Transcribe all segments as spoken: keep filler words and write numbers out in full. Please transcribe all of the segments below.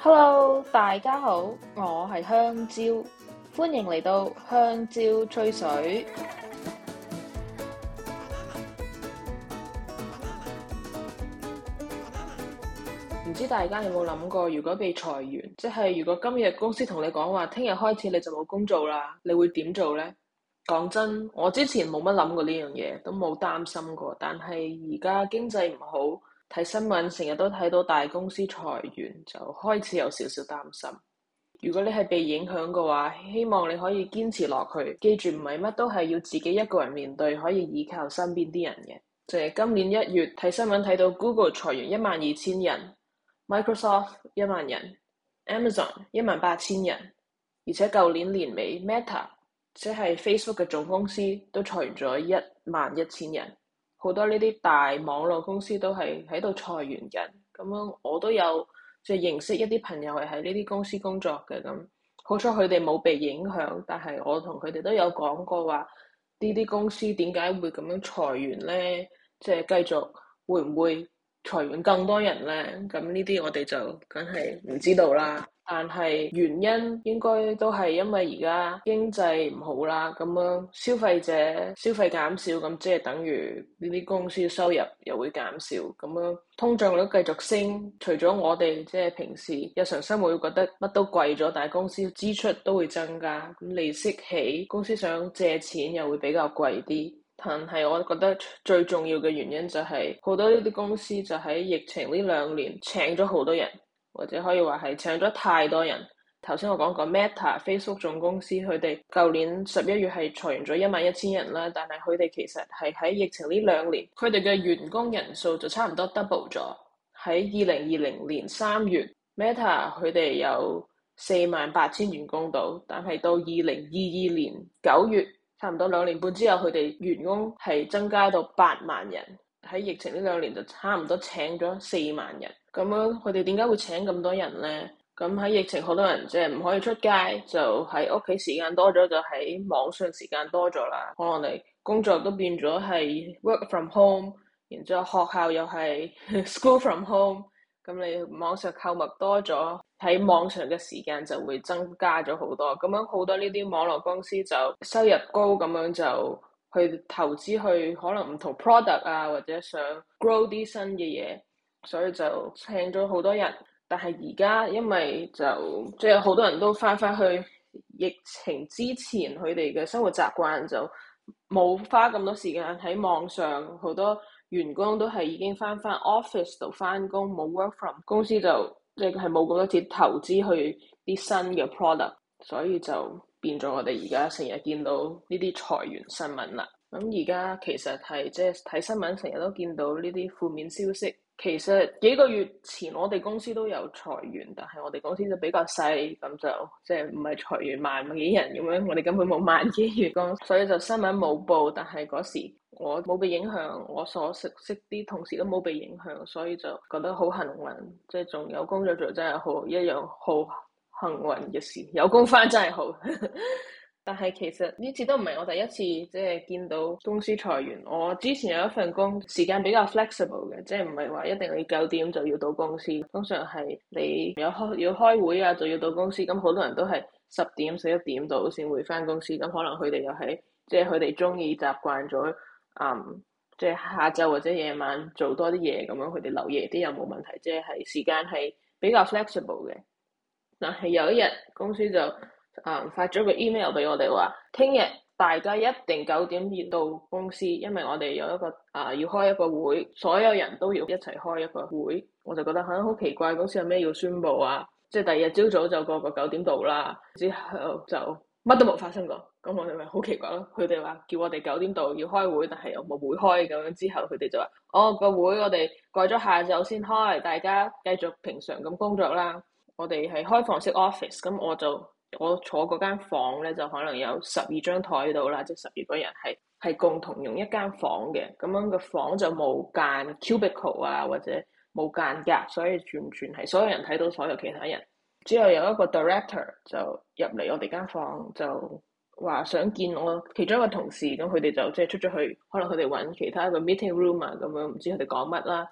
Hello，大家好，我係香蕉，歡迎嚟到香蕉吹水。唔知大家有冇諗過，如果被裁員，即係如果今日公司同你講話，聽日開始你就冇工做啦，你會點做呢？講真，我之前冇乜諗過呢樣嘢，都冇擔心過。但係而家經濟唔好，睇新聞成日都睇到大公司裁員，就開始有少少擔心。如果你係被影響嘅話，希望你可以堅持落去。記住，唔係乜都係要自己一個人面對，可以依靠身邊啲人嘅。就係今年一月睇新聞睇到 Google 裁員一萬二千人。Microsoft 一萬人 ，Amazon 一萬八千人，而且舊年年尾 Meta 即係 Facebook 嘅總公司都裁員咗一萬一千人，好多呢啲大網絡公司都係喺度裁員緊。咁樣我都有即係認識一啲朋友係喺呢啲公司工作嘅，咁好彩佢哋冇被影響，但係我同佢哋都有講過話，呢啲公司點解會咁樣裁員呢？即係繼續會唔會裁員更多人呢？咁呢啲我哋就梗係唔知道啦。但係原因應該都係因為而家經濟唔好啦，咁樣消費者消費減少，咁即係等於呢啲公司收入又會減少，咁樣通脹率繼續升。除咗我哋即係平時日常生活會覺得乜都貴咗，但係公司支出都會增加，咁利息起，公司想借錢又會比較貴啲。但係我覺得最重要嘅原因就係好多呢啲公司就喺疫情呢兩年請咗好多人，或者可以話係請咗太多人。頭先我講過 Meta Facebook 總公司，佢哋舊年十一月係裁員咗一萬一千人啦，但係佢哋其實係喺疫情呢兩年，佢哋嘅員工人數就差唔多 double 咗。喺二零二零年三月 Meta 佢哋有四萬八千員工度，但係到二零二二年九月，差唔多兩年半之後，佢哋員工係增加到八萬人。喺疫情呢兩年就差唔多請咗四萬人。咁樣佢哋點解會請咁多人呢？咁喺疫情好多人即係唔可以出街，就喺屋企時間多咗，就喺網上時間多咗啦。可能你工作都變咗係 work from home，然之後學校又係 school from home。咁你網上購物多咗，喺網上嘅時間就會增加咗好多。咁樣好多呢啲網絡公司就收入高，咁樣就去投資去可能唔同 product 啊，或者想 grow 啲新嘅嘢，所以就請咗好多人。但係而家因為就即係好多人都翻返去疫情之前佢哋嘅生活習慣，就冇花咁多時間喺網上。好多員工都係已經翻返 office 度翻工，冇 work from 公司，就即係冇咁多錢投資去啲新嘅 product， 所以就變咗我哋而家成日見到呢啲裁員新聞啦。咁而家其實係即係睇新聞成日都見到呢啲負面消息。其實幾個月前我哋公司都有裁員，但係我哋公司就比較細，咁就即係唔係裁員萬幾人咁樣，我哋根本冇萬幾員工，所以就新聞冇報。但係嗰時我冇被影響，我所識識啲同事都冇被影響，所以就覺得好幸運，即係仲有工作做真係好一樣好幸運嘅事，有工返真係好。但係其實呢次都唔係我第一次即係見到公司裁員。我之前有一份工時間比較 flexible 嘅，即係唔係話一定你九點就要到公司，通常係你有開要開會啊就要到公司。咁好多人都係十點十一點到先會返公司，咁可能佢哋又係即係佢哋中意習慣咗，嗯，即係下晝或者夜晚做多啲嘢，咁樣佢哋留夜啲又冇問題，即係時間係比較 flexible 嘅。但係有一日公司就嗯，發咗個 email 俾我哋話，聽日大家一定九點要到公司，因為我哋有一個啊、呃、要開一個會，所有人都要一齊開一個會。我就覺得嚇好奇怪，公司有咩要宣佈啊？即係第二日朝早就個個九點到啦，之後就乜都冇發生過。咁我哋咪好奇怪咯。佢哋話叫我哋九點到要開會，但係又冇會開咁樣。之後佢哋就話：哦，個會我哋改咗下晝先開，大家繼續平常咁工作啦。我哋係開放式 office，咁我就。我坐嗰間房咧，就可能有十二張台度啦，即係十二個人係係共同用一間房嘅。咁樣個房就冇間 cubicle 啊，或者冇間隔，所以完全係所有人睇到所有其他人。之後有一個 director 就入嚟我哋間房，就話想見我其中一個同事。咁佢哋就即係出咗去，可能佢哋揾其他一個 meeting room 啊，咁樣唔知佢哋講乜啦。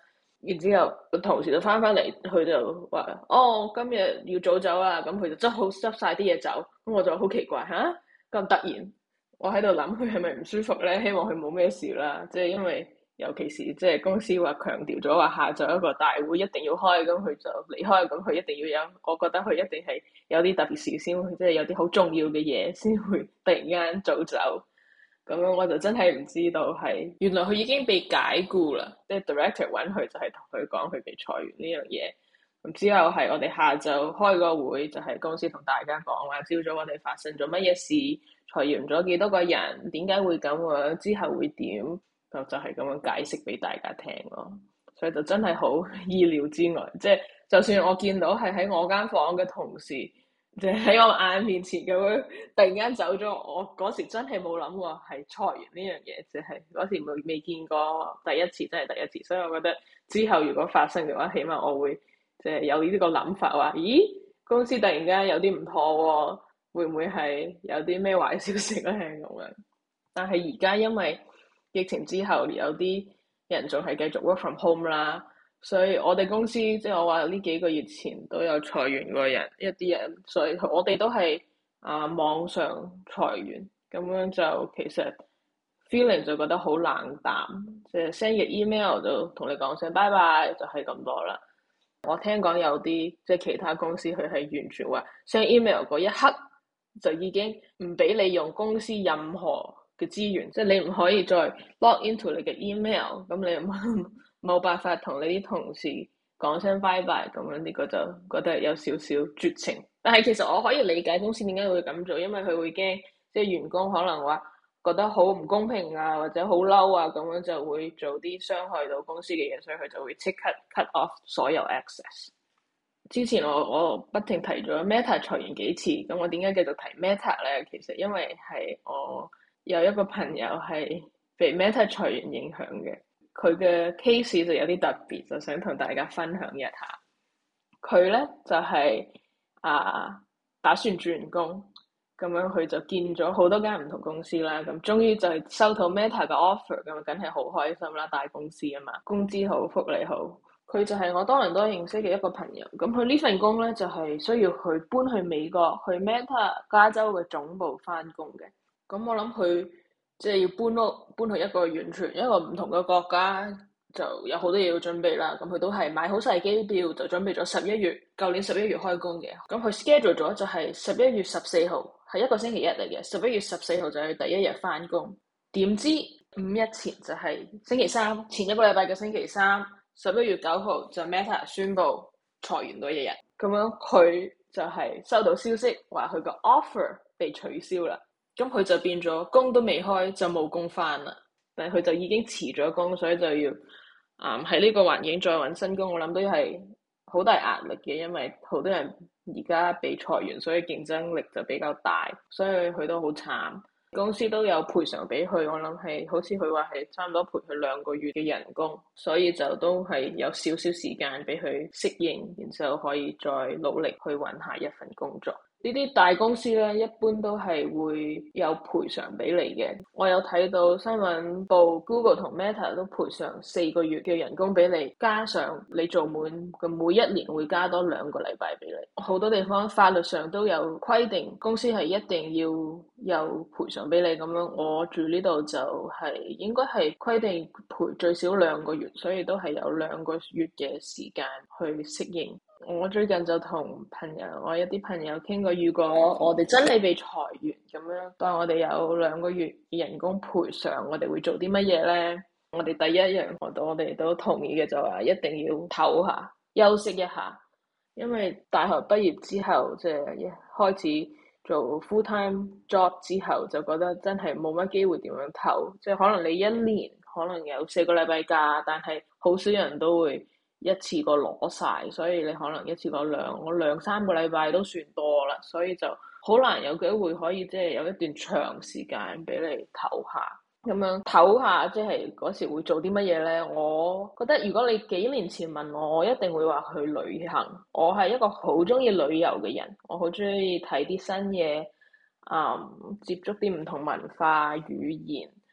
然之後個同事就翻返嚟，佢就話：哦，今日要早走啊！咁佢就執好執晒啲嘢走。咁我就好奇怪嚇，咁突然，我喺度諗佢係咪唔舒服咧？希望佢冇咩事啦。即係因為尤其是即係公司話強調咗話下晝一個大會一定要開，咁佢就離開，咁佢一定要有。我覺得佢一定係有啲特別事先會，即係有啲好重要嘅嘢先會突然間早走。咁樣我就真係唔知道係原來佢已經被解雇啦，即係 director 揾佢就係同佢講佢被裁員呢樣嘢。咁之後係我哋下晝開個會，就係公司同大家講話，朝早我哋發生咗乜嘢事，裁員咗幾多個人，點解會咁樣，之後會點，就就係咁樣解釋俾大家聽咯。所以就真係好意料之外，即係就算我見到係喺我間房嘅同事，即係喺我眼面前咁樣突然間走咗，我嗰時真係冇諗過係裁員呢樣嘢，即係嗰時未未見過第一次，真係第一次。所以我覺得之後如果發生嘅話，起碼我會即係有呢個諗法，話咦，公司突然間有啲唔妥喎，會唔會係有啲咩壞消息咧咁樣？但係而家因為疫情之後，有啲人仲係繼續 work from home 啦。所以我哋公司即係我話呢幾個月前都有裁員過人一啲人，所以我哋都係啊網上裁員，咁樣就其實 feeling 就覺得好冷淡，即係 send 個 email 就同你講聲拜拜，就係咁多啦。我聽講有啲即係其他公司佢係完全話 send email 嗰一刻就已經唔俾你用公司任何嘅資源，即係你唔可以再 log into 你嘅 email， 咁你唔冇辦法同你啲同事講聲拜拜，咁樣呢個就覺得有少少絕情。但係其實我可以理解公司點解會咁做，因為佢會驚即係員工可能話覺得好唔公平啊，或者好嬲啊，咁樣就會做啲傷害到公司嘅嘢，所以佢就會即刻 cut off 所有 access。之前我我不停提咗 Meta 裁員幾次，咁我點解繼續提 Meta 咧？其實因為係我有一個朋友係被 Meta 裁員影響嘅。佢嘅 case 就有啲特別，就想同大家分享一下。佢咧就係、是、啊打算轉工，咁樣佢就見咗好多間唔同公司啦，咁終於就係收到 Meta 嘅 offer，咁梗係好開心啦！大公司啊嘛，工資好，福利好。佢就係我多倫多認識嘅一個朋友，咁佢呢份工咧就係、是、需要去搬去美國，去 Meta 加州嘅總部返工嘅。咁我諗佢。即係要搬屋，搬去一個完全一個唔同嘅國家，就有好多嘢要準備啦。咁佢都係買好晒機票，就準備咗十一月，舊年十一月開工嘅。咁佢 schedule 咗就係十一月十四號，係一個星期一嚟嘅。十一月十四號就係第一日返工。點知五一前就係星期三，前一個禮拜嘅星期三，十一月九號就 Meta 宣布裁員嗰一日。咁樣佢就係收到消息話佢個 offer 被取消啦。咁佢就變咗工都未開就冇工返啦，但係佢就已經辭咗工，所以就要啊喺呢個環境再搵新工，我諗都係好大壓力嘅，因為好多人而家被裁員，所以競爭力就比較大，所以佢都好慘。公司都有賠償俾佢，我諗係好似佢話係差唔多賠佢兩個月嘅人工，所以就都係有少少時間俾佢適應，然之後可以再努力去搵下一份工作。呢啲大公司咧，一般都係會有賠償俾你嘅。我有睇到新聞報 Google 同 Meta 都賠償四個月嘅人工俾你，加上你做滿嘅每一年會加多兩個禮拜俾你。好多地方法律上都有規定，公司係一定要有賠償俾你咁樣。我住呢度就係應該係規定賠最少兩個月，所以都係有兩個月嘅時間去適應。我最近就同朋友，我一啲朋友傾過，如果我哋真係被裁員咁樣，當我哋有兩個月嘅人工賠償，我哋會做啲乜嘢咧？我哋第一樣，我我哋都同意嘅就話一定要唞下，休息一下，因為大學畢業之後，即係一開始做 full time job 之後，就覺得真係冇乜機會點樣唞，即係可能你一年可能有四個禮拜假，但係好少人都會一次過攞晒，所以你可能一次過兩我兩三個禮拜都算多啦，所以就好難有機會可以即係有一段長時間俾你唞下，咁樣唞下即係嗰時會做啲乜嘢咧？我覺得如果你幾年前問我，我一定會話去旅行。我係一個好中意旅遊嘅人，我好中意睇啲新嘢，嗯，接觸啲唔同文化語言。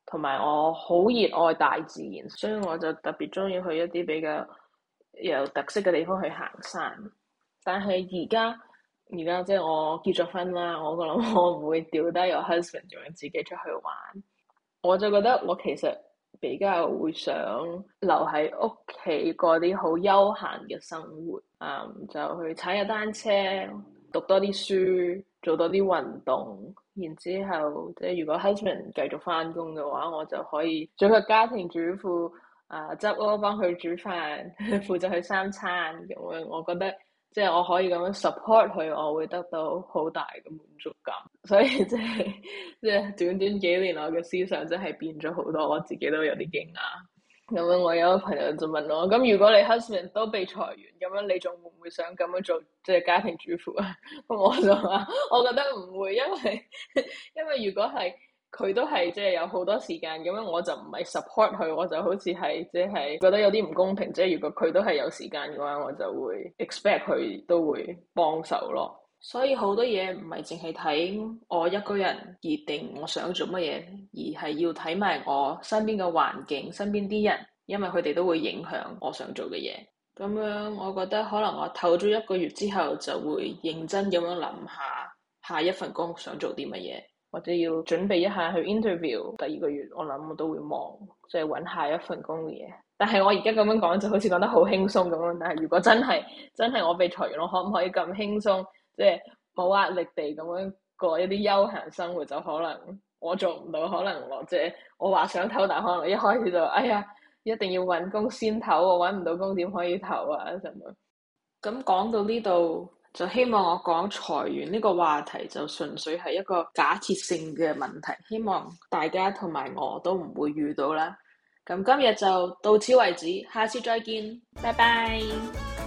同埋我好熱愛大自然，所以我就特別中意去一啲比較有特色嘅地方去行山。但係而家而家即係我結咗婚啦，我諗我唔會掉低我 husband 仲要自己出去玩。我就覺得我其實比較會想留喺屋企過啲好悠閒嘅生活，嗯，就去踩下單車，讀多啲書，做多啲運動，然之後即係如果 husband 繼續翻工嘅話，我就可以做個家庭主婦，啊執屋幫佢煮飯，負責佢三餐咁樣。我覺得即係我可以咁樣 support 佢，我會得到好大嘅滿足感。所以即係即係短短幾年我嘅思想真係變咗好多，我自己都有啲驚訝。咁樣我有個朋友就問我：咁如果你 husband 都被裁員，咁樣你仲會唔會想咁樣做即係家庭主婦啊？咁我就話：我覺得唔會，因為因為如果係佢都係即係有好多時間，咁樣我就唔係 support 佢，我就好似係即係覺得有啲唔公平。即係如果佢都係有時間嘅話，我就會 expect 佢都會幫手咯。所以好多嘢唔係淨係睇我一個人而定我想做乜嘢，而係要睇埋我身邊嘅環境、身邊啲人，因為佢哋都會影響我想做嘅嘢。咁樣我覺得可能我唞咗一個月之後，就會認真咁樣諗下下一份工想做啲乜嘢，或者要準備一下去 interview。第二個月我諗我都會忙，即係揾下一份工嘅嘢。但係我而家咁樣講就好似講得好輕鬆咁樣，但係如果真係真係我被裁員，我可唔可以咁輕鬆？即係冇壓力地咁樣過一啲休閒生活，就可能我做唔到，可能我即係我話想唞，但可能一開始就哎呀，一定要揾工先唞，我揾唔到工點可以唞啊咁樣。咁講到呢度，就希望我講裁員呢個話題就純粹係一個假設性嘅問題，希望大家同埋我都唔會遇到啦。咁今日就到此為止，下次再見，拜拜。